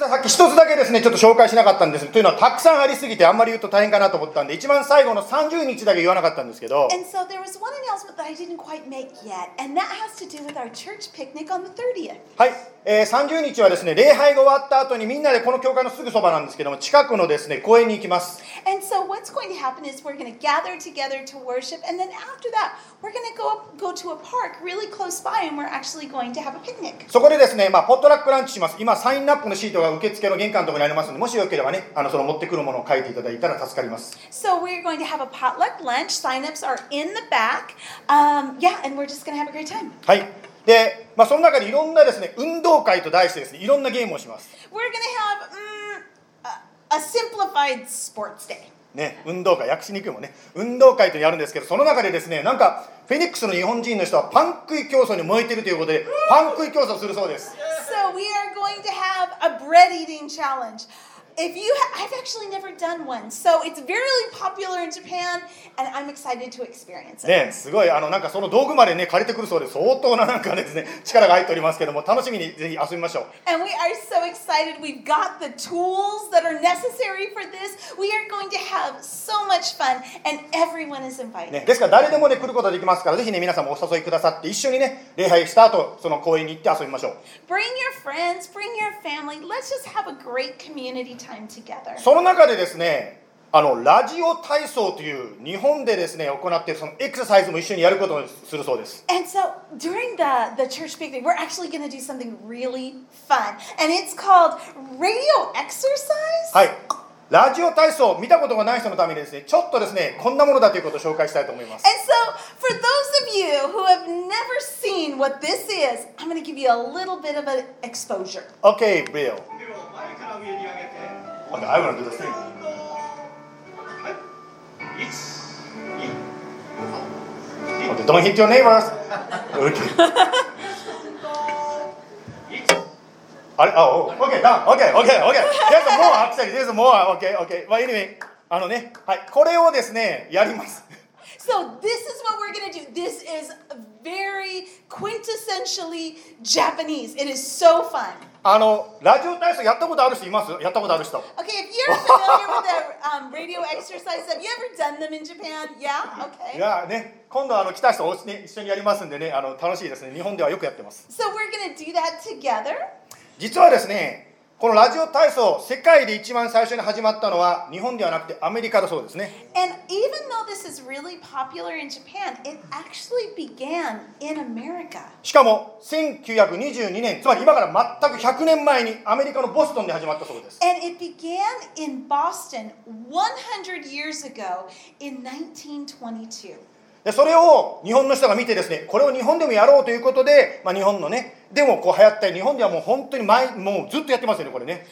さっき一つだけですね、ちょっと紹介しなかったんです。というのは、たくさんありすぎて、あんまり言うと大変かなと思ったんで、一番最後の30日だけ言わなかったんですけど、 And so there was one announcement that I didn't quite make yet, and that has to do with our church picnic on the 30th. はい、30日はですね、礼拝が終わった後にみんなでこの教会のすぐそばなんですけども、近くのですね、公園に行きます。 And so what's going to happen is we're going to gather together to worship, and then after that, we're going to go to a park really close by, and we're actually going to have a picnic. そこでですね、ポットラックランチします。今、サインナップのシートが受付の玄関のところにありますので、もしよければね、その持ってくるものを書いていただいたら助かります。 So we're going to have a potluck lunch. Sign-ups are in the back. Yeah, and we're just going to have a great time. はい。で、その中でいろんなですね、運動会と題してですね、いろんなゲームをします。 We're going to have a simplified sports day. ね、運動会、訳しにくいもんね。運動会とやるんですけど、その中でですね、なんか、フェニックスの日本人の人はパン食い競争に燃えているということで、パン食い競争するそうです。 So we are going to have a bread eating challenge. I've actually never done one, so it's very popular in Japan, and I'm excited to experience it. ね、すごいなんかその道具までね借りてくるそうで、相当ななんかですね力が入っておりますけども、楽しみにぜひ遊びましょう。 And we are so excited. We've got the tools that are necessary for this. We are going to have so much fun, and everyone is invited. ね、ですから誰でもね来ることができますから、ぜひね皆さんもお誘いくださって、一緒にね礼拝した後その公園に行って遊びましょう。 Bring your friends, bring your family. Let's just have a great community time together. その中でですね、ラジオ体操という日本でですね行っているそのエクササイズも一緒にやることにするそうです。 And so during the church picnic, we're actually going to do something really fun, and it's called radio exercise. はい。ラジオ体操見たことがない人のためにですね、ちょっとですねこんなものだということを紹介したいと思います。 And so for those of you who have never seen what this is, I'm going to give you a little bit of an exposure. Okay, Bill. Okay, I want to do the same. Okay, don't hit your neighbors. Okay. あれ、okay, done. Okay. There's more actually. There's more. Okay. But anyway, はい、これをですねやります。 So this is what we're going to do. This is very quintessentially Japanese. It is so fun. ラジオ体操やったことある人います？やったことある人。 Okay, if you're familiar with the radio exercise, have you ever done them in Japan? Yeah? Okay. いやね、今度来た人ね一緒にやりますんでね、楽しいですね。日本ではよくやってます。 So we're going to do that together. 実はですね、このラジオ体操、世界で一番最初に始まったのは日本ではなくてアメリカだそうですね。 And even though this is really popular in Japan, it actually began in America. しかも1922年、つまり今から全く100年前にアメリカのボストンで始まったそうです。 And it began in Boston 100 years ago in 1922. でそれを日本の人が見てですね、これを日本でもやろうということで、日本のね、でもこう流行ったり、日本ではもう本当にもうずっとやってますよね、これね。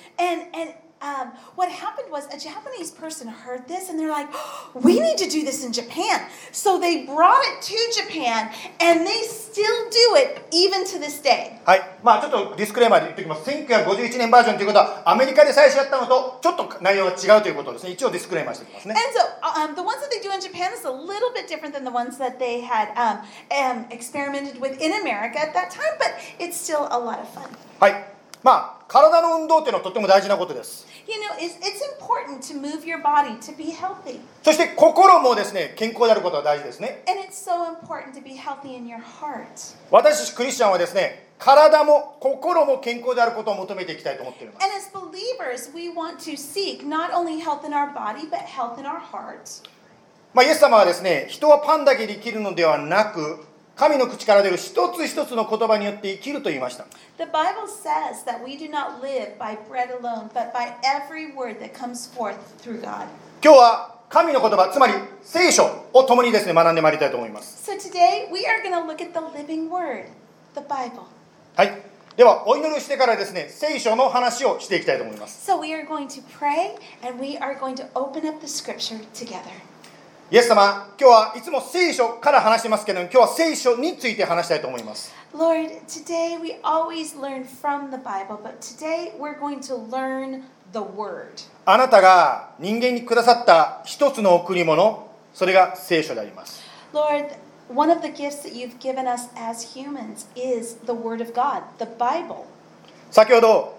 And what happened was a Japanese person heard this and they're like, we need to do this in Japan. So they brought it to Japan and they still do it even to this day. はい、ちょっとディスクレーマーで言っておきます。1951年バージョンということはアメリカで最初やったのとちょっと内容が違うということですね。一応ディスクレーマーしておきますね。 And so the ones that they do in Japan is a little bit different than the ones that they had experimented with in America at that time, but it's still a lot of fun. はい、体の運動というのはとても大事なことです。 You know, it's important to move your body to be healthy. そして心もですね、健康であることが大事ですね。 And it's so important to be healthy in your heart. 私たちクリスチャンはですね、体も心も健康であることを求めていきたいと思っています。 And as believers, we want to seek not only health in our body, but health in our hearts. イエス様はですね、人はパンだけで生きるのではなく、神の口から出る一つ一つの言葉によって生きると言いました。 The Bible says that we do not live by bread alone, but by every word that comes forth through God. 今日は神の言葉、つまり聖書を共にですね、学んでまいりたいと思います。 So today, we are going to look at the living word, the Bible. はい。では、お祈りしてからですね、聖書の話をしていきたいと思います。 So we are going to pray, and we are going to open up the scripture together. イエス様、今日はいつも聖書から話してますけど、今日は聖書について話したいと思います。 Lord, today we always learn from the Bible, but today we're going to learn the word. あなたが人間にくださった一つの贈り物、それが聖書であります。 Lord, one of the gifts that you've given us as humans is the word of God, the Bible. 先ほど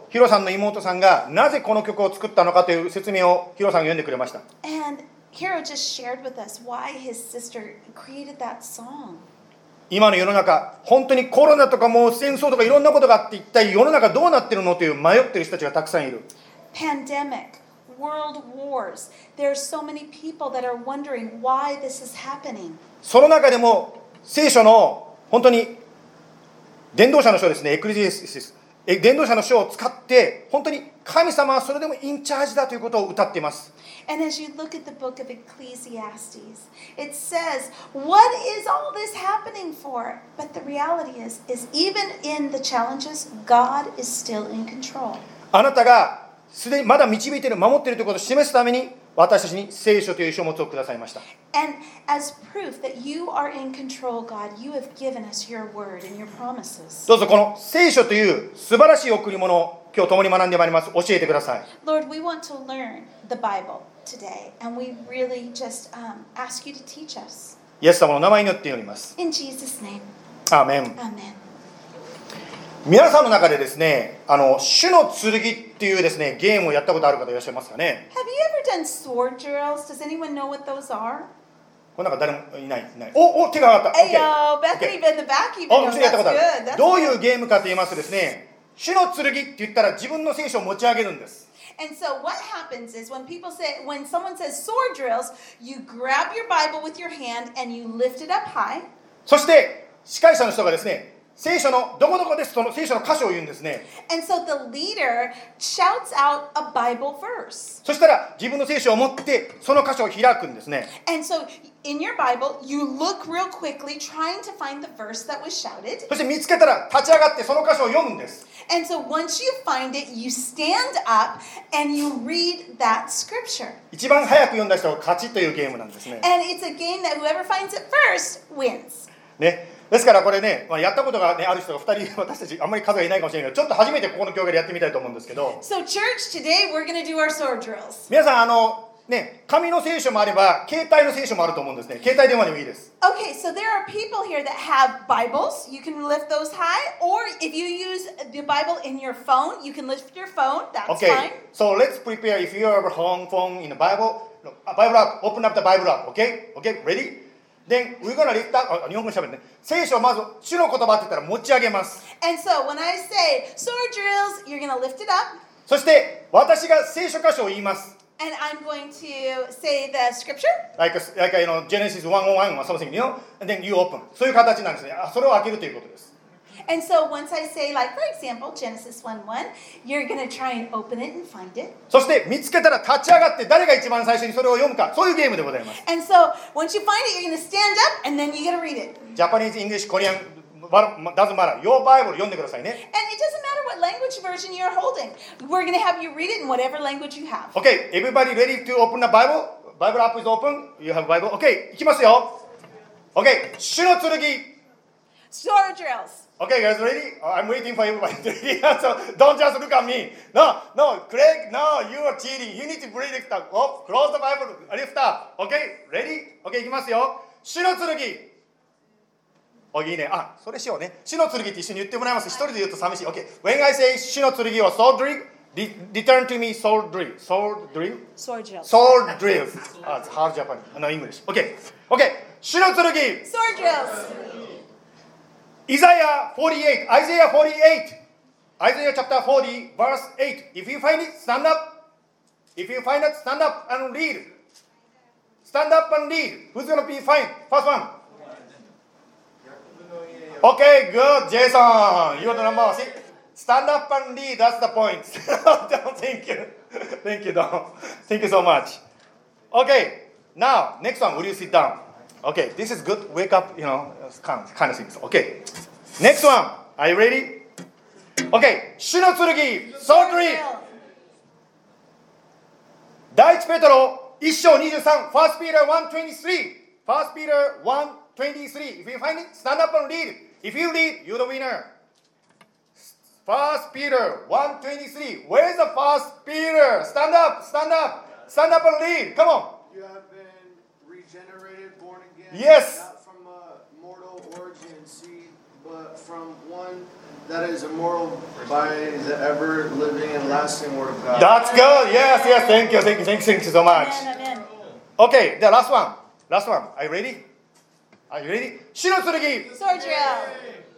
ヒロさんの妹さんがなぜこの曲を作ったのかという説明をヒロさんが読んでくれました。 And Hiro just shared with us why his sister created that song. 今の世の中、本当にコロナとかもう戦争とかいろんなことがあって、一体世の中どうなってるのという迷ってる人たちがたくさんいる。 Pandemic, world wars. There are so many people that are wondering why this is happening. その中でも聖書の本当に伝道者の書ですね、エクレジエシス、伝道者の書を使って本当に神様はそれでもインチャージだということを歌っています。 And as you look at the book of Ecclesiastes, it says, what is all this happening for? But the reality is even in the challenges, God is still in control. あなたがすでにまだ導いている、守っているということを示すために、私たちに聖書という書物をくださいました。 And as proof that you are in control, God, you have given us your word and your promises. どうぞこの聖書という素晴らしい贈り物を今日共に学んでまいります。教えてください。 Lord, we want to learn the Bible today, and we really just ask you to teach us. イエス様の名前によって祈ります。 In Jesus' name, アーメン。 amen. 皆さんの中でですね、主の剣っていうですね、ゲームをやったことある方いらっしゃいますかね。 Have you ever done sword drills? Does anyone know what those are? この中誰もいない。お、手が上がった。 Hey, yo, Bethany in the back even う knows. ちやったことある。 That's good. どういうゲームかと言いますとですね、主の剣って言ったら自分の聖書を持ち上げるんです。 And so what happens is when someone says sword drills, you grab your Bible with your hand and you lift it up high. そして司会者の人がですね、聖書のどこどこです、その聖書の箇所を言うんですね。 And so the leader shouts out a Bible verse. そしたら自分の聖書を持ってその箇所を開くんですね。 And so in your Bible, you look real quickly trying to find the verse that was shouted. そして見つけたら立ち上がってその箇所を読むんです。 And so once you find it, you stand up and you read that scripture. 一番早く読んだ人が勝ちというゲームなんですね。 And it's a game that whoever finds it first wins. ね。ですからこれね、やったことが、ね、ある人が2人、私たちあんまり数がいないかもしれないけど、ちょっと初めてここの教会でやってみたいと思うんですけど、 So church, today we're going to do our sword drills. 皆さんね、紙の聖書もあれば携帯の聖書もあると思うんですね。携帯電話でもいいです。 Okay, so there are people here that have Bibles. You can lift those high. Or if you use the Bible in your phone, you can lift your phone. That's Okay, fine. so let's prepare. If you have a home phone in the Bible, Bible app, open up the Bible app. Okay, ready? Then we're gonna lift up. 日本語しゃべるね。聖書をまず主の言葉って言ったら持ち上げます。 And so when I say sword drills, you're going to lift it up. そして私が聖書箇所を言います。 And I'm going to say the scripture. Like Genesis 1:1 or something, and then you open. そういう形なんですね。それを開けるということです。 And so once I say, like, for example, Genesis 1:1, you're going to try and open it and find it. そして見つけたら立ち上がって誰が一番最初にそれを読むか、そういうゲームでございます。 And so once you find it, you're going to stand up and then you got to read it. Japanese, English, Korean, doesn't matter. Your Bible 読んでくださいね。 And it doesn't matter what language version you're holding. We're going to have you read it in whatever language you have. Okay, everybody ready to open the Bible? Bible app is open. You have Bible. Okay, いきますよ。Okay, 主の剣。 Sword drills. Okay, guys, ready? I'm waiting for everybody to ready. So don't just look at me. No, Craig, no, you are cheating. You need to read it. Oh, close the Bible. Lift up. Okay, ready? Okay, いきますよ。主の剣。いいね。それしようね。主の剣って一緒に言ってもらいます。一人で言うと寂しい。Okay, when I say 主の剣は sword drill, return to me sword drill. Sword drill? Sword drills. Sword drill. It's hard Japanese. No, English. Okay, 主の剣。 Sword drills. Isaiah 48, Isaiah chapter 40, verse 8. If you find it, stand up. If you find it, stand up and read. Stand up and read. Who's going to be fine? First one. Okay, good, Jason. You're the number one. See? Stand up and read. That's the point. Thank you. Thank you, Don. Thank you so much. Okay, now, next one. Will you sit down? Okay, this is good. Wake up, kind of things. Okay, next one. Are you ready? Okay, 主の剣、sword drill. 第一ペトロ1章23、First Peter 1:23. First Peter 1:23. If you find it, stand up and read. If you read, you're the winner. First Peter 1:23. Where's the First Peter? Stand up and read. Come on. You have been regenerated, born again. Yes. Not from a mortal origin, seed, but but from one that is immortal by the ever living and lasting word of God. That's good. Yes, yes. Thank you, thank you, thank you, thank you so much. Amen, amen. Okay, the last one. Last one. Are you ready? Are you ready? 死の剣。 Sword drill.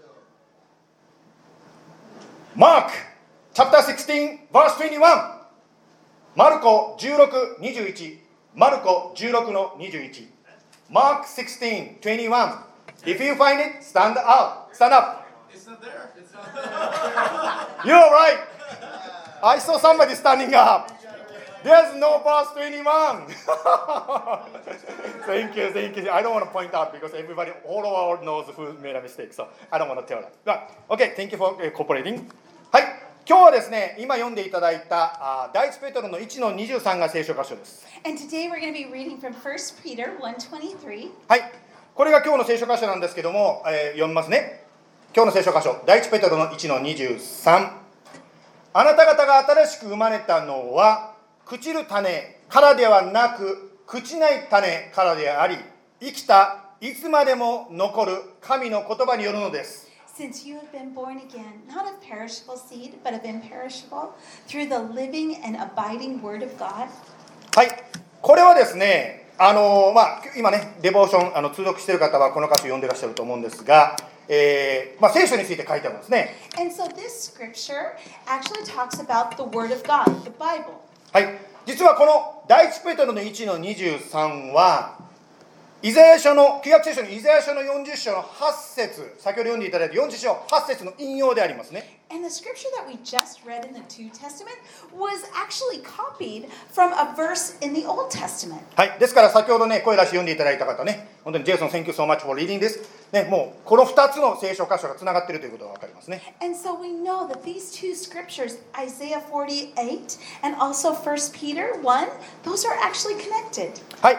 Mark chapter 16 verse 21. マルコ16、21。マルコ16の21。Mark 16, 21. If you find it, stand up. Stand up. It's not there. It's not You're right. I saw somebody standing up. There's no verse 21. Thank you, thank you. I don't want to point out because everybody, all over the world knows who made a mistake. So I don't want to tell that. But, okay, thank you for cooperating. はい。今日はですね、今読んでいただいた第一ペトロの1の23が聖書箇所です。 And today we're going to be reading from 1 Peter 1:23. はい。これが今日の聖書箇所なんですけども、読みますね。今日の聖書箇所、第一ペトロの1の23。あなた方が新しく生まれたのは、朽ちる種からではなく、朽ちない種からであり、生きた、いつまでも残る神の言葉によるのです。 Since you have been born again, not of perishable seed, but of imperishable, through the living and abiding word of God. はい。これはですね、今ね、デボーション通読している方はこの箇所読んでらっしゃると思うんですが、聖書について書いてあるんですね。 And so this scripture actually talks about the word of God, the Bible. はい。実はこの第一ペトロの1の23は、イザヤ書の旧約聖書のイザヤ書の40章の8節、先ほど読んでいただいた40章8節の引用でありますね。 And the scripture that we just read in the New Testament was actually copied from a verse in the Old Testament. はい。ですから先ほどね、声出し読んでいただいた方ね、本当にジェイソン、Thank you so much for reading this。ね、もうこの2つの聖書箇所がつながっているということが分かりますね。 And so we know that these two scriptures, Isaiah 48 and also 1 Peter 1, those are actually connected. はい。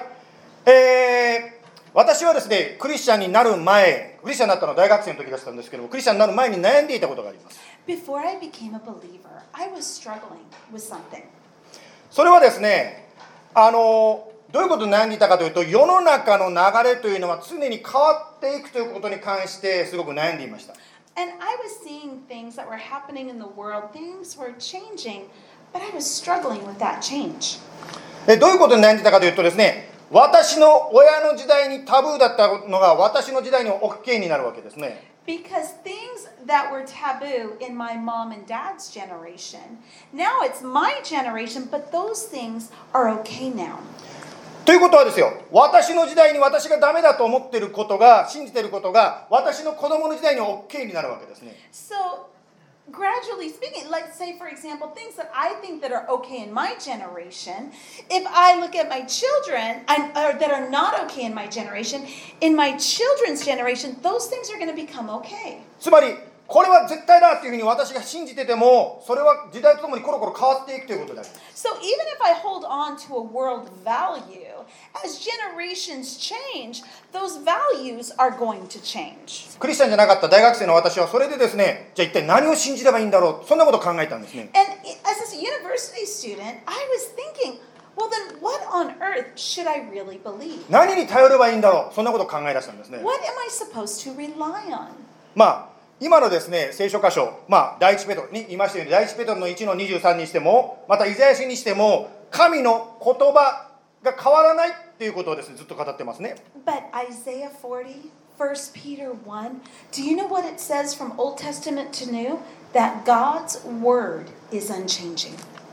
私はですね、クリスチャンになる前、クリスチャンになったのは大学生の時だったんですけども、クリスチャンになる前に悩んでいたことがあります。 Before I became a believer, I was struggling with something. それはですね、どういうことに悩んでいたかというと、世の中の流れというのは常に変わっていくということに関してすごく悩んでいました。 And I was seeing things that were happening in the world, things were changing, but I was struggling with that change. どういうことに悩んでいたかというとですね、私の親の時代にタブーだったのが私の時代に OK になるわけですね。 Because things that were taboo in my mom and dad's generation, now it's my generation, but those things are okay now. ということはですよ、私の時代に私がダメだと思っていることが、信じていることが、私の子供の時代に OK になるわけですね。 So, gradually speaking, let's say, for example, things that I think that are okay in my generation, if I look at my children that are not okay in my generation, in my children's generation, those things are going to become okay. つまり、これは絶対だというふうに私が信じてても、それは時代とともにコロコロ変わっていくということである。 So even if I hold on to a world value, as generations change, those values are going to change. クリスチャンじゃなかった大学生の私はそれでですね、じゃあ一体何を信じればいいんだろう、そんなことを考えたんですね。 And as a university student, I was thinking, well then what on earth should I really believe? 何に頼ればいいんだろう、そんなことを考え出したんですね。 What am I supposed to rely on? 今のですね、聖書箇所、第一ペトロに言いましたように、第一ペトロの1の23にしても、またイザヤ書にしても、神の言葉が変わらないっていうことをですね、ずっと語ってますね。 But Isaiah 40, 1 Peter 1, do you know what it says from Old Testament to New? That God's word is unchanging.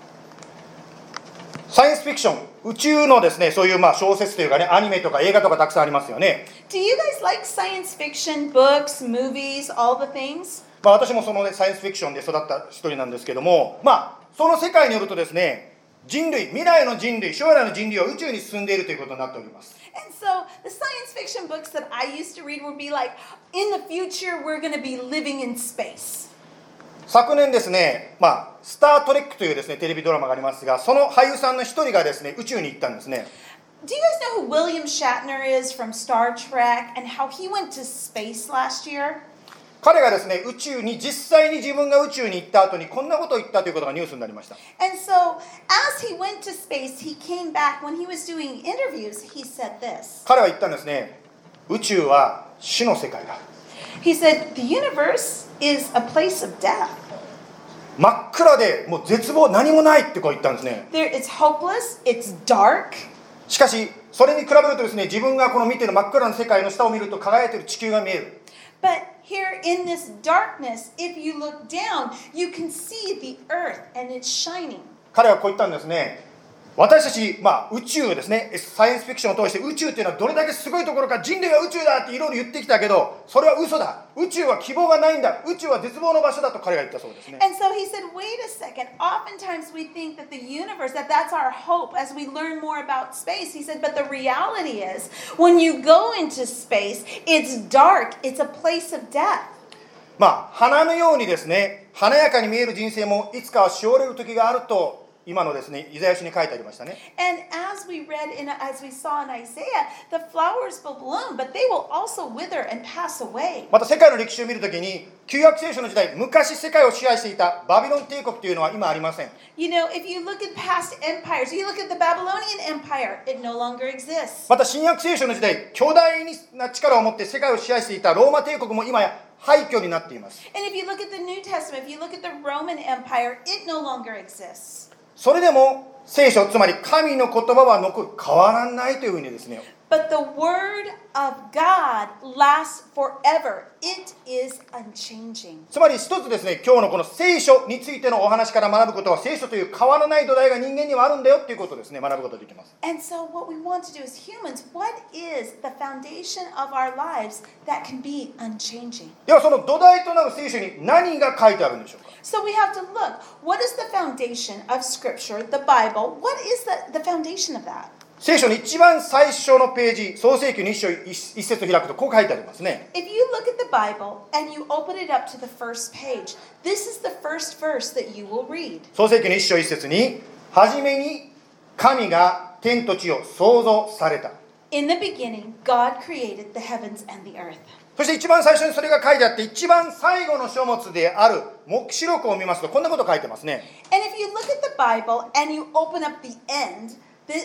サイエンスフィクション、宇宙のですね、そういう小説というかね、アニメとか映画とかたくさんありますよね。 Do you guys like science fiction, books, movies, all the things? 私もその、ね、サイエンスフィクションで育った一人なんですけども、その世界によるとですね、人類、未来の人類、将来の人類は宇宙に進んでいるということになっております。 And so the science fiction books that I used to read would be like, in the future we're going to be living in space. 昨年ですね、スタートレックというですね、テレビドラマがありますが、その俳優さんの一人がですね、宇宙に行ったんですね。 Do you guys know who William Shatner is from Star Trek and how he went to space last year? 彼がですね、宇宙に実際に自分が宇宙に行った後にこんなことを言ったということがニュースになりました。 And so, as he went to space, he came back. When he was doing interviews, he said this. 彼は言ったんですね。宇宙は死の世界だ。 He said, the universe is a place of death. 真っ暗でもう絶望何もないってこう言ったんですね。 It's hopeless, it's dark. しかしそれに比べるとですね、自分がこの見ている真っ暗な世界の下を見ると輝いている地球が見える。 But here in this darkness, if you look down, you can see the earth and it's shining. 彼はこう言ったんですね。私たち、宇宙ですね、サイエンスフィクションを通して宇宙っていうのはどれだけすごいところか、人類は宇宙だっていろいろ言ってきたけど、それは嘘だ。宇宙は希望がないんだ。宇宙は絶望の場所だと彼が言ったそうですね。 And so he said, wait a second. Oftentimes we think that the universe, that's our hope as we learn more about space. He said, but the reality is, when you go into space, it's dark. It's a place of death. 花のようにですね、華やかに見える人生もいつかはしおれる時があると、今のですね、イザヤ書に書いてありましたね。 And as we saw in Isaiah, the flowers will bloom, but they will also wither and pass away. また世界の歴史を見るときに、旧約聖書の時代、昔世界を支配していたバビロン帝国というのは今ありません。 You know, if you look at past empires, you look at the Babylonian Empire, it no longer exists. また新約聖書の時代、巨大な力を持って世界を支配していたローマ帝国も今や廃墟になっています。 And if you look at the New Testament, if you look at the Roman Empire, it no longer exists. それでも聖書、つまり神の言葉は変わらないというふうにですね。 But the word of God lasts forever. It is unchanging. つまり一つですね、今日のこの聖書についてのお話から学ぶことは、聖書という変わらない土台が人間にはあるんだよということをですね、学ぶことができます。 And so what we want to do as humans, what is the foundation of our lives that can be unchanging? ではその土台となる聖書に何が書いてあるんでしょうか。 So we have to look, what is the foundation of Scripture, the Bible? What is the foundation of that? 聖書の一番最初のページ、創世記の一節を開くとこう書いてありますね。 If you look at the Bible and you open it up to the first page, this is the first verse that you will read. 創世記の一章一節に、はじめに神が天と地を創造された。 In the beginning, God created the heavens and the earth. そして一番最初にそれが書いてあって、一番最後の書物である黙示録を見ますとこんなこと書いてますね。 And if you look at the Bible and you open up the end,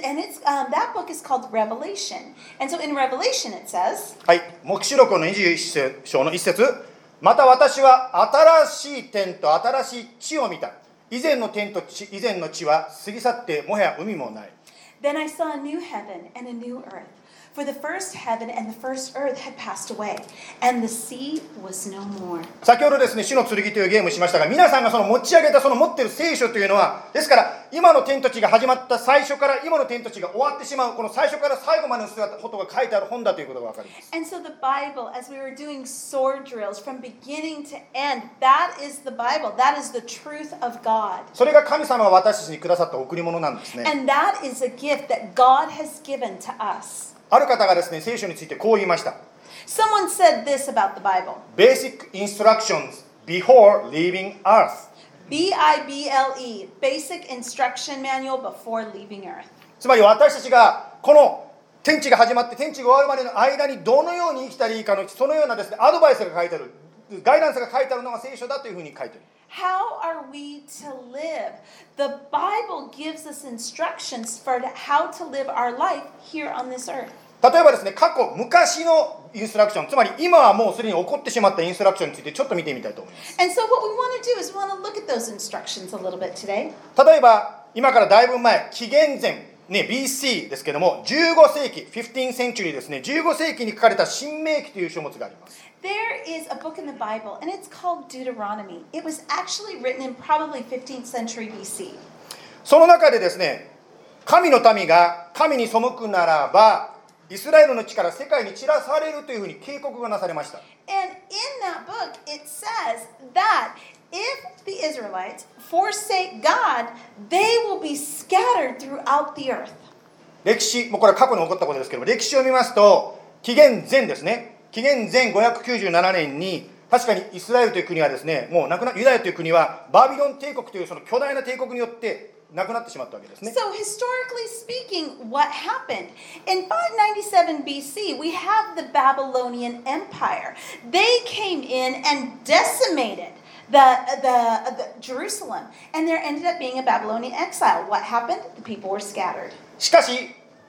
that book is called Revelation. And so in Revelation it says, はい、黙示録の21章の一節。また私は新しい天と新しい地を見た。以前の天と以前の地は過ぎ去ってもはや海もない。 Then I saw a new heaven and a new earth. For the first heaven and the first earth had passed away, and the sea was no more. 先ほどですね、主の剣というゲームをしましたが、皆さんがその持ち上げたその持っている聖書というのは、ですから今の天と地が始まった最初から今の天と地が終わってしまう、この最初から最後までのことが書いてある本だということが分かります。 And so the Bible, as we were doing sword drills from beginning to end, that is the Bible. That is the truth of God. それが神様が私たちにくださった贈り物なんですね。 And that is a gift that God has given to us. ある方がですね、聖書についてこう言いました。 Someone said this about the Bible. Basic instructions before leaving earth. BIBLE, Basic Instruction Manual Before Leaving Earth. つまり私たちがこの天地が始まって天地が終わるまでの間にどのように生きたらいいかのそのようなですね、アドバイスが書いてある、ガイダンスが書いてあるのが聖書だというふうに書いてある。 How are we to live? The Bible gives us instructions for how to live our life here on this earth. 例えばですね、昔のインストラクション、つまり今はもうすでに起こってしまったインストラクションについてちょっと見てみたいと思います。 And so what we want to do is we want to look at those instructions a little bit today. 例えば今からだいぶ前、紀元前、BC ですけども、15世紀、15 century ですね、15世紀に書かれた新明記という書物があります。 There is a book in the Bible, and it's called Deuteronomy. It was actually written in probably 15th century BC. その中でですね、神の民が神に背くならば、イスラエルの地から世界に散らされるというふうに警告がなされました。 And in that book, it says that if the Israelites forsake God, they will be scattered throughout the earth. 歴史、もうこれは過去に起こったことですけども、歴史を見ますと、紀元前ですね、紀元前597年に、確かにイスラエルという国はですね、もうなくなユダヤという国はバビロン帝国というその巨大な帝国によってなくなってしまったわけですね。 So historically speaking, what happened? In 597 BC, we have the Babylonian Empire. They came in and decimated the Jerusalem, and there ended up being a Babylonian exile. What happened? The people were scattered. しかし、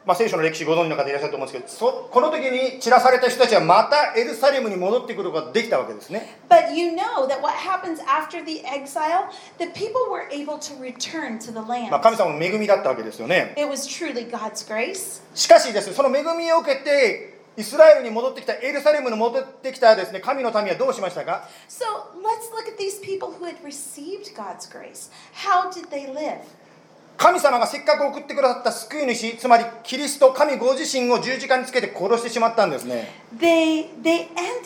聖書の歴史ご存知の方いらっしゃると思うんですけど、この時に散らされた人たちはまたエルサレムに戻ってくることができたわけですね。 But you know that what happens after the exile, the people were able to return to the land. 神様の恵みだったわけですよね。 It was truly God's grace. しかしですね、その恵みを受けてイスラエルに戻ってきた、エルサレムに戻ってきたですね、神の民はどうしましたか？ So let's look at these people who had received God's grace. How did they live? 神様がせっかく送ってくださった救い主、つまりキリスト、神ご自身を十字架につけて殺してしまったんですね。 They ended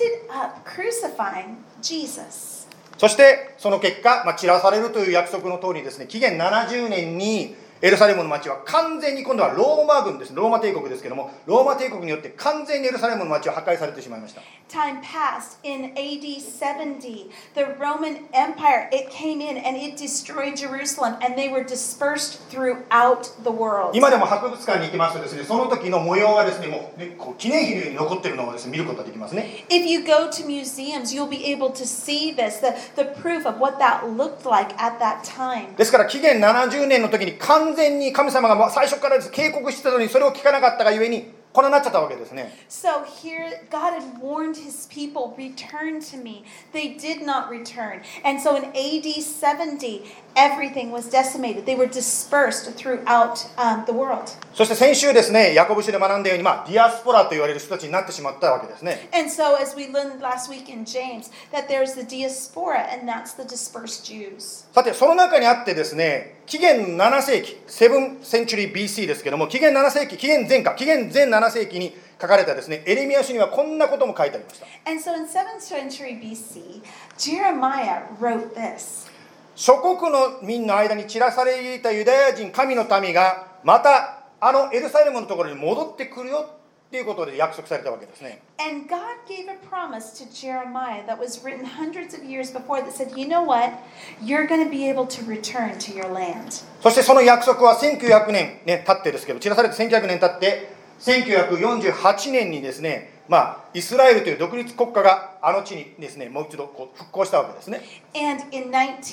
up crucifying Jesus. そしてその結果、散らされるという約束の通りですね、紀元70年にエルサレムの町は完全に、今度はローマ軍です、ローマ帝国ですけども、ローマ帝国によって完全にエルサレムの町は破壊されてしまいました。 Time passed. In AD 70, the Roman Empire, it came in and it destroyed Jerusalem, and they were dispersed throughout the world. 今でも博物館に行きますとですね、その時の模様がですね、もうね、こう記念碑のように残っているのをですね、見ることができますね。 If you go to museums, you'll be able to see this, the proof of what that looked like at that time. ですから紀元70年の時に完全に神様が最初からです警告してたのにそれを聞かなかったがゆえにこんなになっちゃったわけですね。 So here, God had warned his people, return to me. They did not return. And so in AD 70, everything was decimated. They were dispersed throughout the world. そして先週ですね、ヤコブ書で学んだように、ディアスポラと言われる人たちになってしまったわけですね。 And so as we learned last week in James, that there's the diaspora, and that's the dispersed Jews. さて、その中にあってですね、紀元7世紀、7th century BC ですけども、紀元7世紀、紀元前7世紀に書かれたですね、エレミヤ書にはこんなことも書いてありました。 And so in 7th century BC, Jeremiah wrote this. 諸国の民の間に散らされていたユダヤ人、神の民がまたエルサレムのところに戻ってくるよっていうことで約束されたわけですね。 And God gave a promise to Jeremiah that was written hundreds of years before that said, you know what? You're going to be able to return to your land. そしてその約束は1900年、経ってですけど、散らされて1900年経って1948年にですね、イスラエルという独立国家があの地にですね、もう一度復興したわけですね。 And in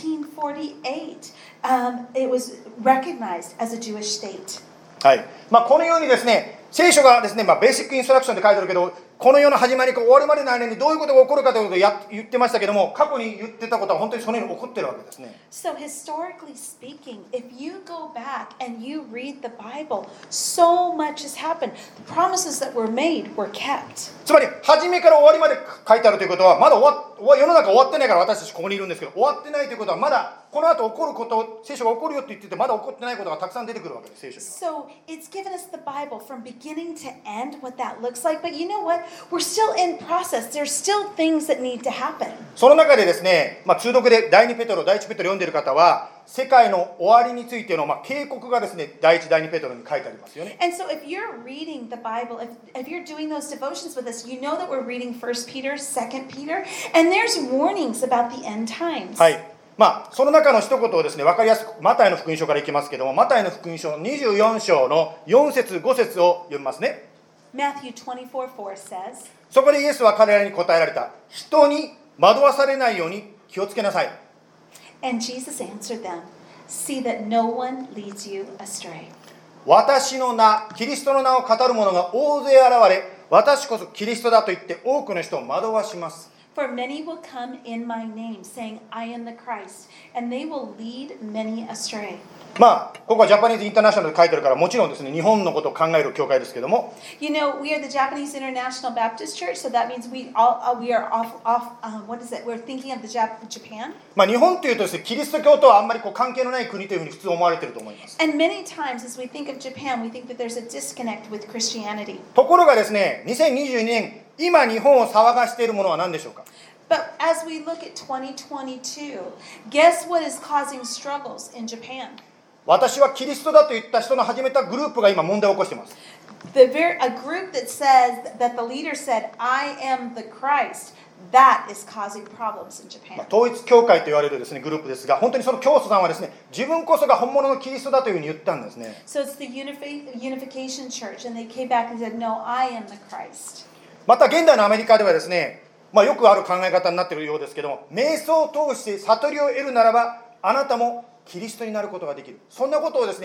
1948, it was recognized as a Jewish state. はい。このようにですね、聖書がですね、ベーシックインストラクションで書いてあるけど、この世の始まりから終わるまでの間にどういうことが起こるかということを言ってましたけども、過去に言ってたことは本当にそのように起こってるわけですね。 So historically speaking, if you go back and you read the Bible, so much has happened. The promises that were made were kept. つまり初めから終わりまで書いてあるということは、まだ世の中終わってないから私たちここにいるんですけど、終わってないということはまだこの後起こること、聖書が起こるよって言っててまだ起こってないことがたくさん出てくるわけです、聖書には。 So it's given us the Bible from beginning to end, what that looks like. But you know what? We're still in process. There's still things that need to happen. その中でですね、通読で第2ペトロ、第1ペトロ読んでいる方は、世界の終わりについての警告がですね、第1、第2ペトロに書いてありますよね。 And so if you're reading the Bible, if you're doing those devotions with us, you know that we're reading 1 Peter, 2 Peter, and there's warnings about the end times. はい。その中の一言をですね、分かりやすくマタイの福音書からいきますけども、マタイの福音書24章の4節5節を読みますね。 Matthew 24:4 says, そこでイエスは彼らに答えられた。人に惑わされないように気をつけなさい。 and Jesus answered them, see that no one leads you astray. 私の名、キリストの名を語る者が大勢現れ、私こそキリストだと言って多くの人を惑わします。 For many will come in my name, saying, I am the Christ, and they will lead many astray. ここはジャパニーズインターナショナルで書いてあるから、もちろんですね、日本のことを考える教会ですけども、 You know, we are the Japanese International Baptist Church, so that means we are what is it? We're thinking of Japan. 日本というとですね、キリスト教とはあんまり関係のない国というふうに普通思われていると思います。 And many times as we think of Japan, we think that there's a disconnect with Christianity. ところがですね、2022年、今日本を騒がしているものは何でしょうか。 But as we look at 2022, guess what is causing struggles in Japan? 私はキリストだと言った人の始めたグループが今問題を起こしています。 A group that says that the leader said, I am the Christ, that is causing problems in Japan. 統一教会と言われるですね、グループですが、本当にその教祖さんはですね、自分こそが本物のキリストだというふうに言ったんですね。 So it's the Unification Church, and they came back and said, no, I am the Christ. また現代のアメリカではですね、よくある考え方になっているようですけども、瞑想を通して悟りを得るならばあなたもキリストになることができる、そんなことをですね、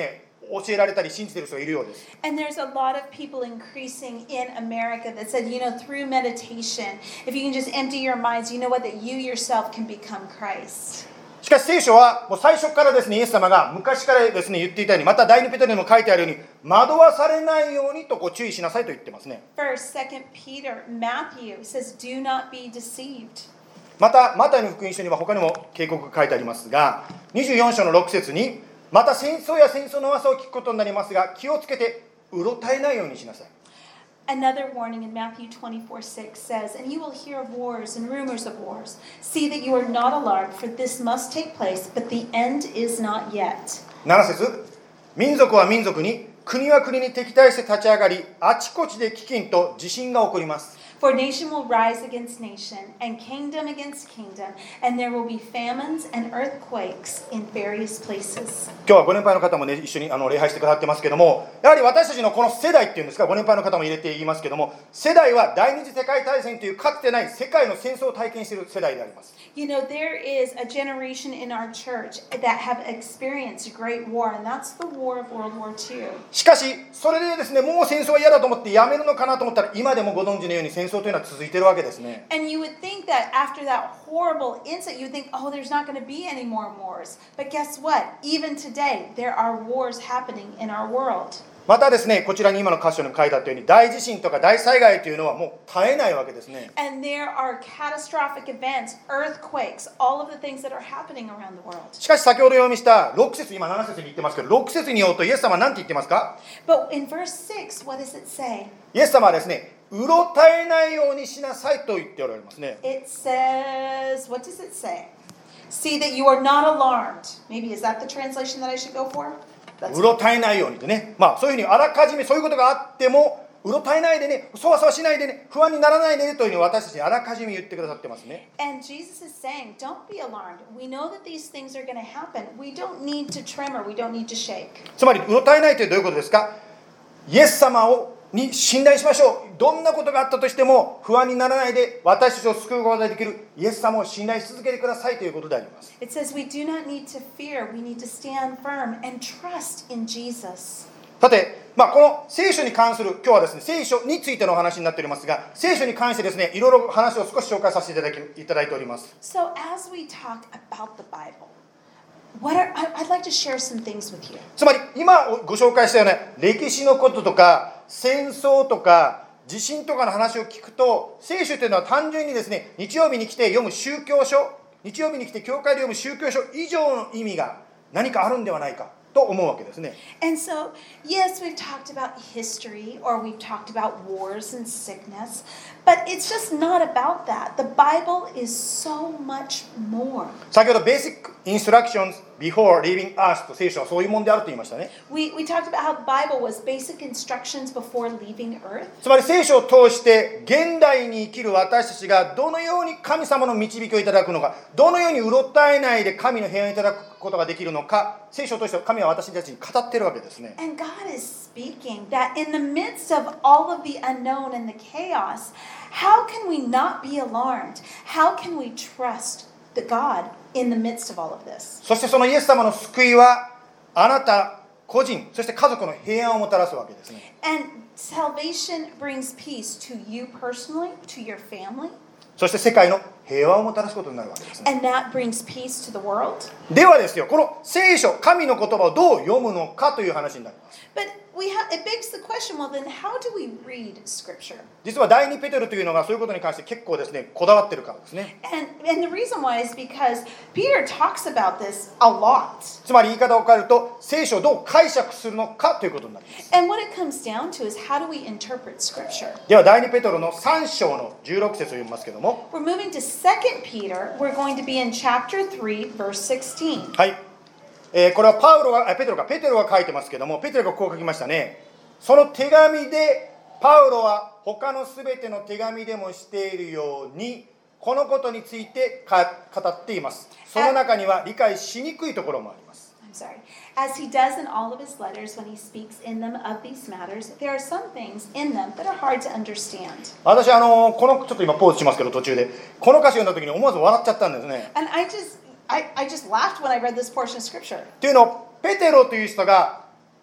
教えられたり信じている人がいるようです。 And there's a lot of people increasing in America that said, through meditation, if you can just empty your minds, you know what, that you yourself can become Christ. しかし聖書はもう最初からですね、イエス様が昔からですね言っていたように、また第2ペテロにも書いてあるように、惑わされないようにと注意しなさいと言ってますね。 First, Second Peter, Matthew says, do not be deceived. またマタイの福音書には他にも警告が書いてありますが、24章の6節に、また戦争や戦争の噂を聞くことになりますが、気をつけてうろたえないようにしなさい。 Another warning in Matthew 24:6 says, and you will hear of wars and rumors of wars. See that you are not alarmed, for this must take place, but the end is not yet. 7節、民族は民族に、国は国に敵対して立ち上がり、あちこちで飢饉と地震が起こります。 For nation will rise against nation, and kingdom against kingdom, and there will be famines and earthquakes in various places. 今日はご年配の方もね、一緒に礼拝してくださってますけども、やはり私たちのこの世代っていうんですか、ご年配の方も入れて言いますけども、世代は第二次世界大戦というかつてない世界の戦争を体験している世代であります。 There is a generation in our church that have experienced a great war, and that's the war of World War II. しかし、それでですね、もう戦争は嫌だと思ってやめるのかなと思ったら、今でもご存知のように戦争というのは続いているわけですね。 And you would think that after that horrible incident, you'd think, oh, there's not going to be any more wars. But guess what? Even today, there are wars happening in our world. またですね、こちらに今の箇所に書いてあったように、大地震とか大災害というのはもう絶えないわけですね。 And there are catastrophic events, earthquakes, all of the things that are happening around the world. しかし先ほど読みした6節、今7節に言ってますけど、6節によるとイエス様は何て言ってますか？ But in verse 6, what does it say? イエス様はですね、うろたえないようにしなさいと言っておられますね。 It says, what does it say? See that you are not alarmed. Maybe is that the translation that I should go for? うろたえないようにでね、そういうふうにあらかじめそういうことがあってもうろたえないでね、そわそわしないでね、不安にならないでねというふうに私たちにあらかじめ言ってくださってますね。 And Jesus is saying, don't be alarmed. We know that these things are going to happen. We don't need to tremor. We don't need to shake. つまりうろたえないというどういうことですか？イエス様に信頼しましょう。どんなことがあったとしても不安にならないで、私たちを救うことができるイエス様を信頼し続けてくださいということであります。 It says we do not need to fear. We need to stand firm and trust in Jesus. さて、この聖書に関する、今日はですね、聖書についてのお話になっておりますが、聖書に関してですね、いろいろ話を少し紹介させていただいております。 So as we talk about the Bible, I'd like to share some things with you. つまり今ご紹介したような歴史のこととか戦争とか地震とかの話を聞くと、聖書というのは単純にですね、日曜日に来て読む宗教書、日曜日に来て教会で読む宗教書以上の意味が何かあるんではないかと思うわけですね。 And so, yes, we've talked about history or we've talked about wars and sickness, but it's just not about that. The Bible is so much more. 先ほど Basic Instructions Before Leaving Earth と聖書はそういうもんであると言いましたね。 We talked about how the Bible was basic instructions before leaving earth. つまり聖書を通して現代に生きる私たちがどのように神様の導きをいただくのか、どのようにうろたえないで神の平安をいただくことができるのか、聖書を通して神は私たちに語っているわけですね。 And God is speaking that in the midst of all of the unknown and the chaos, how can we not be alarmed? How can we trust the God in the midst of all of this? そしてそのイエス様の救いはあなた個人、そして家族の平安をもたらすわけですね。 And salvation brings peace to you personally, to your family, そして世界の平和をもたらすことになるわけですね。 and that brings peace to the world. ではですよ、この聖書、神の言葉をどう読むのかという話になります。 But it begs the question, well, then how do we read Scripture? 実は第2ペテロというのがそういうことに関して結構ですね、こだわってるからですね。 And the reason why is because Peter talks about this a lot. つまり言い方を変えると、聖書をどう解釈するのかということになります。 And what it comes down to is how do we interpret Scripture? では第2ペテロの3章の16節を読みますけども、 We're moving to 2 Peter. We're going to be in chapter 3, verse 16. はい。これはペテロが書いてますけども、ペテロがこう書きましたね。その手紙でパウロは他のすべての手紙でもしているようにこのことについて語っています。その中には理解しにくいところもあります。 I'm sorry. As he does in all of his letters when he speaks in them of these matters, there are some things in them that are hard to understand. 私このちょっと今ポーズしますけど途中でこの歌詞を読んだ時に思わず笑っちゃったんですね。 And I just laughed when I read this portion of Scripture. というのをペテロという人が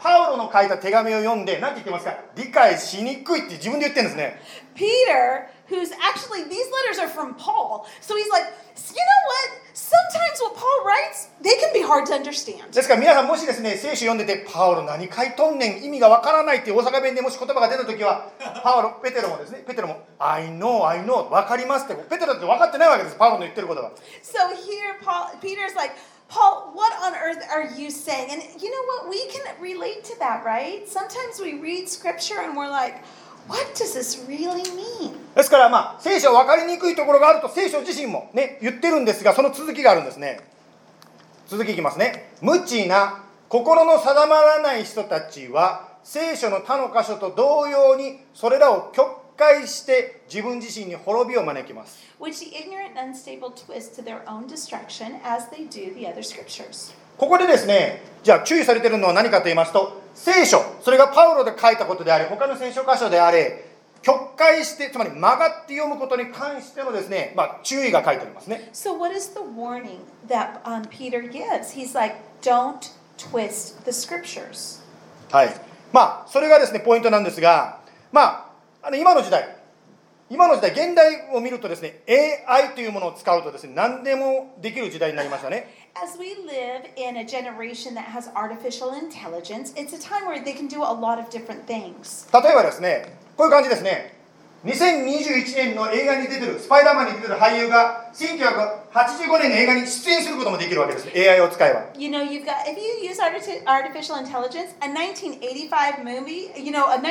パウロの書いた手紙を読んで何て言ってますか、理解しにくいって自分で言ってるんですね。 Peter, who's actually, these letters are from Paul. So he's like, you know what? Sometimes what Paul writes, they can be hard to understand. ですから皆さんもしですね、聖書読んでてパウロ何書いとんねん、意味がわからないっていう大阪弁でもし言葉が出た時は、ペテロもですね、ペテロも I know わかりますって、ペテロって分かってないわけです、パウロの言ってることが。 So here Peter's like, Paul, what on earth are you saying? And you know what? We can relate to that, right? Sometimes we read scripture and we're like, what does this really mean? ですから聖書分かりにくいところがあると聖書自身もね言ってるんですが、その続きがあるんですね。続きいきますね。無知な心の定まらない人たちは聖書の他の箇所と同様にそれらを曲解して自分自身に滅びを招きます。 Which the ignorant and unstable twist to their own destruction as they do the other scriptures. ここでですね、じゃあ注意されているのは何かと言いますと、聖書、それがパウロで書いたことであれ、他の聖書箇所であれ、曲解して、つまり曲がって読むことに関してのですね、注意が書いてありますね。 So what is the warning that Peter gives? He's like, don't twist the scriptures. はい。それがですね、ポイントなんですが、今の時代、現代を見るとですね、AI というものを使うとですね、何でもできる時代になりましたね。 As we live in a generation that has artificial intelligence, it's a time where they can do a lot of different things. 例えばですね、こういう感じですね。2021年の映画に出てる、スパイダーマンに出てる俳優が1985年の映画に出演することもできるわけです。AI を使えば。 You know, if you use artificial intelligence, a 1985 movie, a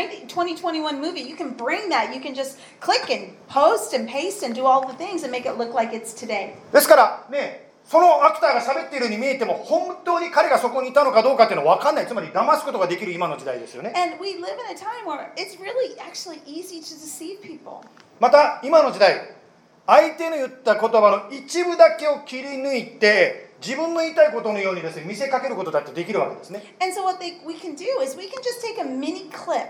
2021 movie, you can bring that. You can just click and post and paste and do all the things and make it look like it's today. ですからね、そのアクターが喋っているように見えても本当に彼がそこにいたのかどうかっていうのは分かんない。つまり騙すことができる今の時代ですよね。 And we live in a time where it's really actually easy to deceive people. また今の時代、相手の言った言葉の一部だけを切り抜いて自分の言いたいことのようにですね見せかけることだってできるわけですね。 And so what we can do is we can just take a mini clip,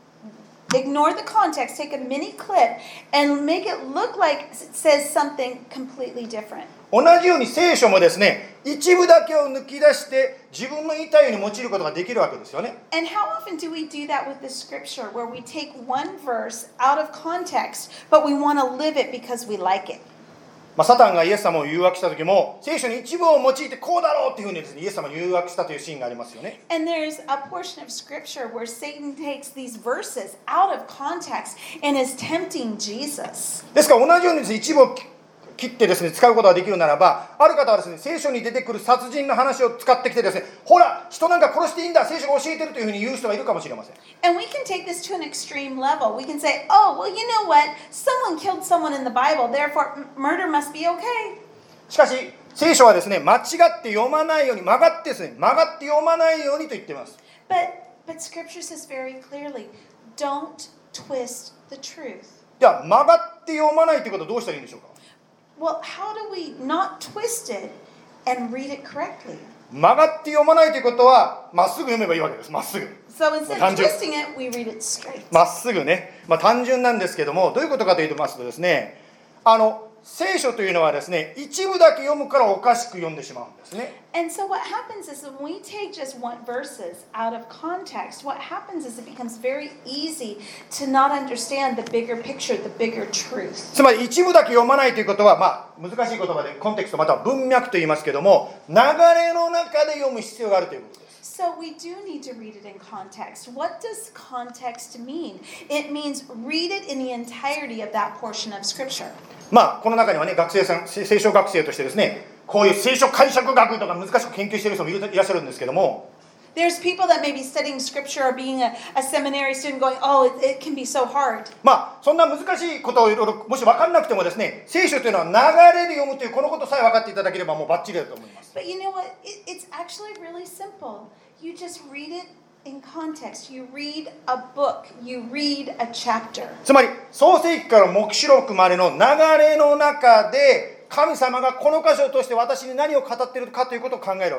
ignore the context, take a mini clip and make it look like it says something completely different. 同じように聖書もですね、一部だけを抜き出して自分の言いたいように用いることができるわけですよね。 And how often do we do that with the scripture where we take one verse out of context, but we want to live it because we like it? サタンがイエス様を誘惑した時も聖書に一部を用いてこうだろうっていうふうにですね、イエス様を誘惑したというシーンがありますよね。 And there's a portion of scripture where Satan takes these verses out of context and is tempting Jesus. ですから同じようにですね、一部を切ってですね使うことができるならば、ある方はですね聖書に出てくる殺人の話を使ってきてですね、ほら人なんか殺していいんだ、聖書が教えてるというふうに言う人がいるかもしれません。 And we can take this to an extreme level. We can say, oh, well, you know what? Someone killed someone in the Bible, therefore murder must be okay. しかし聖書はですね、間違って読まないように、曲がって読まないようにと言っています。 But scripture says very clearly, don't twist the truth. じゃあ曲がって読まないということはどうしたらいいんでしょうか。 Well, how do we not twist it and read it correctly? 曲がって読まないということはまっすぐ読めばいいわけです。まっすぐ。 So instead of twisting it, we read it straight. まっすぐね。単純なんですけども、どういうことかと言いますとですね、聖書というのはですね、一部だけ読むからおかしく読んでしまうんですね。 And so what happens is when we take just one verses out of context, what happens is it becomes very easy to not understand the bigger picture, the bigger truth. つまり一部だけ読まないということは、難しい言葉でコンテクストまたは文脈と言いますけども、流れの中で読む必要があるということです。 So we do need to read it in context. What does context mean? It means read it in the entirety of that portion of scripture. この中にはね、学生さん、聖書学生としてですね、こういう聖書解釈学とか難しく研究している人もいらっしゃるんですけども、 There's people that may be studying scripture or being a seminary student going, oh, it can be so hard. そんな難しいことをいろいろもし分からなくてもですね、聖書というのは流れで読むというこのことさえ分かっていただければもうバッチリだと思います。 But you know what? It's actually really simple. You just read it in context. You read a book. You read a chapter. つまり創世記から黙示録までの流れの中で神様がこの箇所を通して私に何を語っているかということを考えるわけです。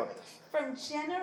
from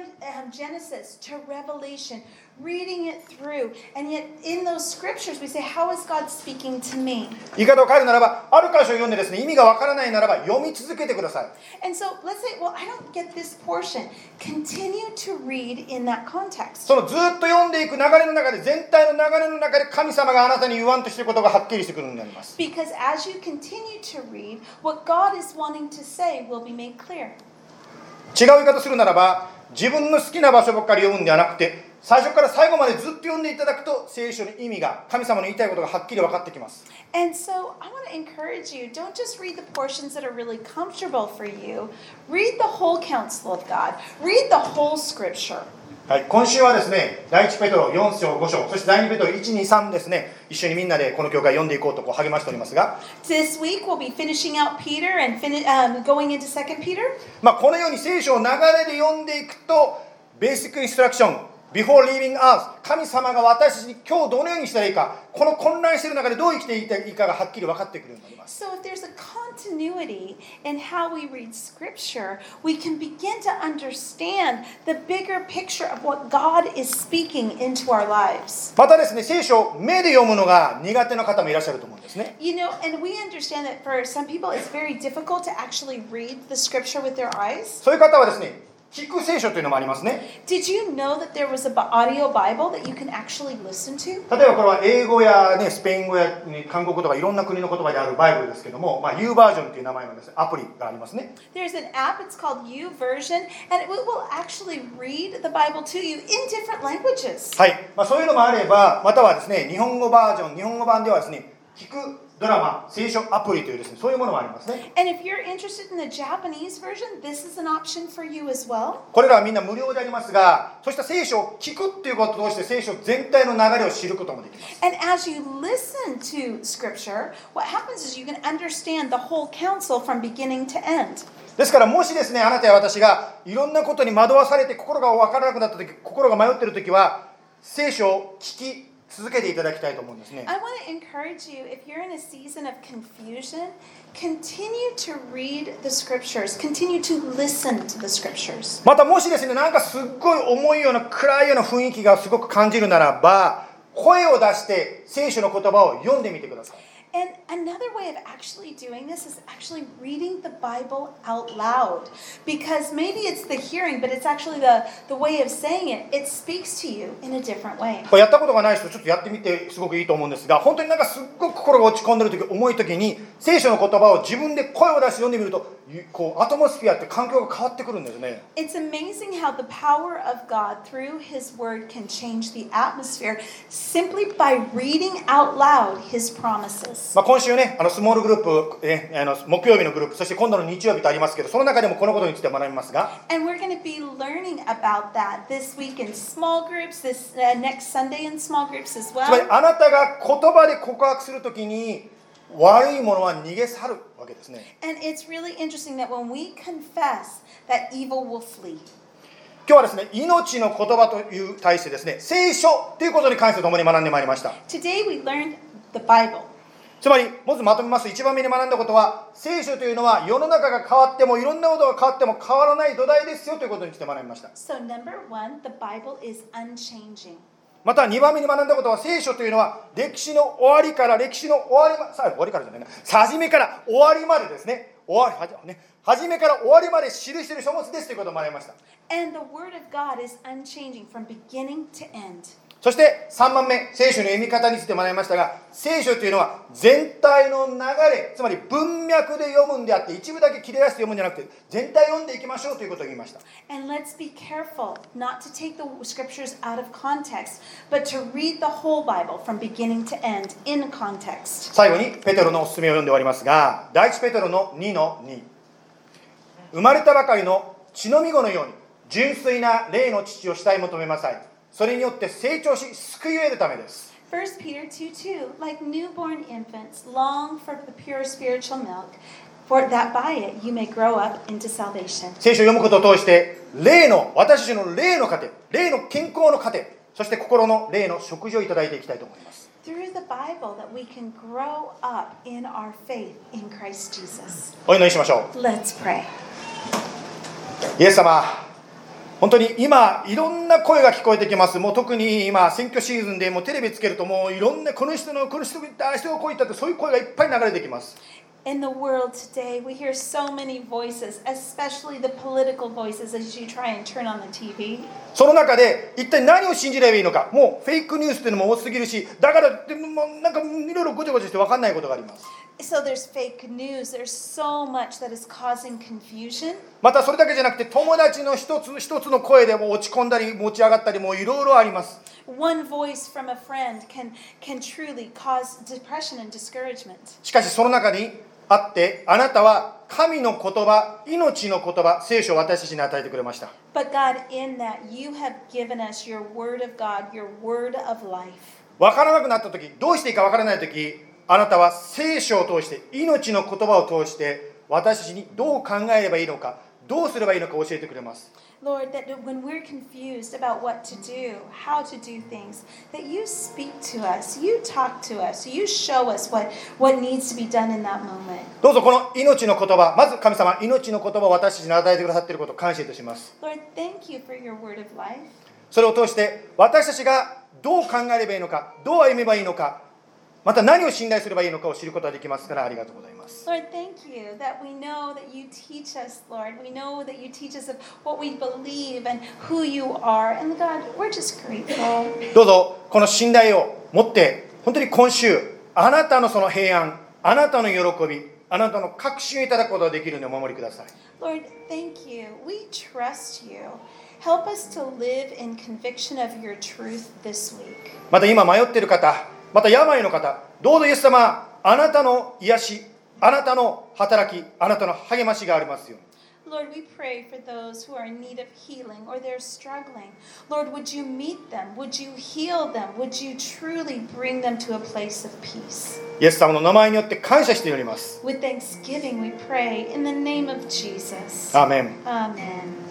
Genesis to Revelation, reading it through, and yet in those scriptures we say, how is God speaking to me? 言い方を変えるならば、ある箇所を読んでですね、意味がわからないならば読み続けてください。 And so let's say, well, I don't get this portion. Continue to read in that context. そのずっと読んでいく流れの中で、全体の流れの中で神様があなたに言わんとしていることがはっきりしてくるようになります。 Because as you continue to read, what God is wanting to say will be made clear. 違う言い方するならば、自分の好きな場所ばっかり読むんではなくて、最初から最後までずっと読んでいただくと、聖書の意味が、神様の言いたいことがはっきり分かってきます。 And so I want to encourage you, don't just read the portions that are really comfortable for you. Read the whole counsel of God. Read the whole scripture. はい、今週はですね、第1ペトロ4章5章、そして第2ペトロ1、2、3ですね、一緒にみんなでこの教会読んでいこうと励ましておりますが、 This week we'll be finishing out Peter and going into 2 Peter. このように聖書を流れで読んでいくと、ベーシックインストラクション、Before leaving earth、神様が私たちに今日どのようにしたらいいか、この混乱している中でどう生きていいかがはっきり分かってくるようになります。 So if there's a continuity in how we read scripture, we can begin to understand the bigger picture of what God is speaking into our lives. またですね、聖書を目で読むのが苦手な方もいらっしゃると思うんですね。 You know, and we understand that for some people it's very difficult to actually read the scripture with their eyes. そういう方はですね、聞く聖書というのもありますね。 Did you know that there was an audio Bible that you can actually listen to? 例えばこれは英語や、ね、スペイン語や韓国語とかいろんな国の言葉であるバイブルですけども、U バージョンという名前のですね、アプリがありますね。 There's an app, it's called YouVersion, and it will actually read the Bible to you in different languages. はい、そういうのもあれば、またはですね、日本語バージョン、日本語版ではですね、聞くドラマ、聖書アプリというですね、そういうものもありますね。 And if you're interested in the Japanese version, this is an option for you as well. これらはみんな無料でありますが、そうした聖書を聞くっていうことを通して聖書全体の流れを知ることもできます。 And as you listen to scripture, what happens is you can understand the whole counsel from beginning to end. ですからもしですね、あなたや私がいろんなことに惑わされて心が分からなくなった時、心が迷っている時は、聖書を聞き続けていただきたいと思うんですね。 I want to encourage you, if you're in a season of confusion, continue to read the scriptures, continue to listen to the scriptures. またもしですね、なんかすっごい重いような暗いような雰囲気がすごく感じるならば、声を出して聖書の言葉を読んでみてください。 And another way of actually doing this is actually reading the Bible out loud. Because maybe it's the hearing, but it's actually the way of saying it. It speaks to you in a different way. これやったことがない人ちょっとやってみてすごくいいと思うんですが、本当になんかすっごく心が落ち込んでる時、重い時に聖書の言葉を自分で声を出して読んでみると、こうアトモスフィアって環境が変わってくるんですね。 It's amazing how the power of God through His Word can change the atmosphere simply by reading out loud His promises. 今週ね、スモールグループ、木曜日のグループ、そして今度の日曜日とありますけど、その中でもこのことについて学びますが、 And we're going to be learning about that this week in small groups, this next Sunday in small groups as つまり well. あなたが言葉で告白するときに悪いものは逃げ去るわけですね。 And it's really interesting that when we confess, that evil will flee. 今日はですね、命の言葉という対してですね、聖書ということに関して共に学んでまいりました。 Today we learned the Bible. つまり、まずまとめます。一番目に学んだことは、聖書というのは世の中が変わってもいろんなことが変わっても変わらない土台ですよということについて学びました。 So number one, the Bible is unchanging. また2番目に学んだことは、聖書というのは歴史の終わりから歴史の終わりま、終わりからじゃないな、初めから終わりまでですね、初めから終わりまで記している書物ですということを学びました。 And the Word of God is unchanging from beginning to end. そして3番目、聖書の読み方について学びましたが、聖書というのは全体の流れ、つまり文脈で読むんであって、一部だけ切り出して読むんじゃなくて、全体読んでいきましょうということを言いました。 And let's be careful not to take the scriptures out of context, but to read the whole Bible from beginning to end in context. 最後にペテロのおすすめを読んで終わりますが、第一ペテロの 2:2、生まれたばかりの血のみ子のように純粋な霊の父を慕い求めなさい。それによって成長し救いを得るためです。 1 Peter 2:2, like newborn infants, long for the pure spiritual milk, for that by it you may grow up into salvation. 聖書を読むことを通して私たちの霊の糧、霊の健康の糧、そして心の霊の食事をいただいていきたいと思います。 Through the Bible that we can grow up in our faith in Christ Jesus. お祈りしましょう。 Let's pray. イエス様、 本当に今いろんな声が聞こえてきます。もう特に今選挙シーズンでもうテレビつけるともういろんなこの人が言ったあの人がこう言ったってそういう声がいっぱい流れてきます。 In the world today, we hear so many voices, especially the political voices as you try and turn on the TV. その中で一体何を信じればいいのか、もうフェイクニュースっていうのも多すぎるし、だからでもなんかいろいろごちゃごちゃして分かんないことがあります。 So there's fake news. There's so much that is causing confusion. またそれだけじゃなくて友達の一つ一つの声でも落ち込んだり持ち上がったりもいろいろあります。 One voice from a friend can truly cause depression and discouragement. しかしその中にあって、あなたは神の言葉、命の言葉、聖書を私たちに与えてくれました。 But God, in that, you have given us your word of God, your word of life. 分からなくなった時、どうしていいか分からない時、あなたは聖書を通して、命の言葉を通して私たちにどう考えればいいのか、どうすればいいのか教えてくれます。 Lord, that when we're confused about what to do, how to do things, that you speak to us, you talk to us, you show us what needs to be done in that moment. どうぞこの命の言葉、まず神様、命の言葉を私たちに与えてくださっていることを感謝いたします。 Lord, thank you for your word of life. それを通して私たちがどう考えればいいのか、どう歩めばいいのか、また何を信頼すればいいのかを知ることができますからありがとうございます。 Lord, thank you that we know that you teach us, Lord. We know that you teach us of what we believe and who you are. And God, we're just grateful. どうぞこの信頼を持って本当に今週あなたのその平安、あなたの喜び、あなたの確信をいただくことができるようにお守りください。 Lord, thank you. We trust you. Help us to live in conviction of your truth this week. また今迷っている方、また病の方、どうぞイエス様、あなたの癒し、あなたの働き、あなたの励ましがありますように。 Lord, we pray for those who are in need of healing or they're struggling. Lord, would you meet them? Would you heal them? Would you truly bring them to a place of peace? イエス様の名前によって感謝しております。 With thanksgiving, we pray in the name of Jesus. アーメン。 Amen.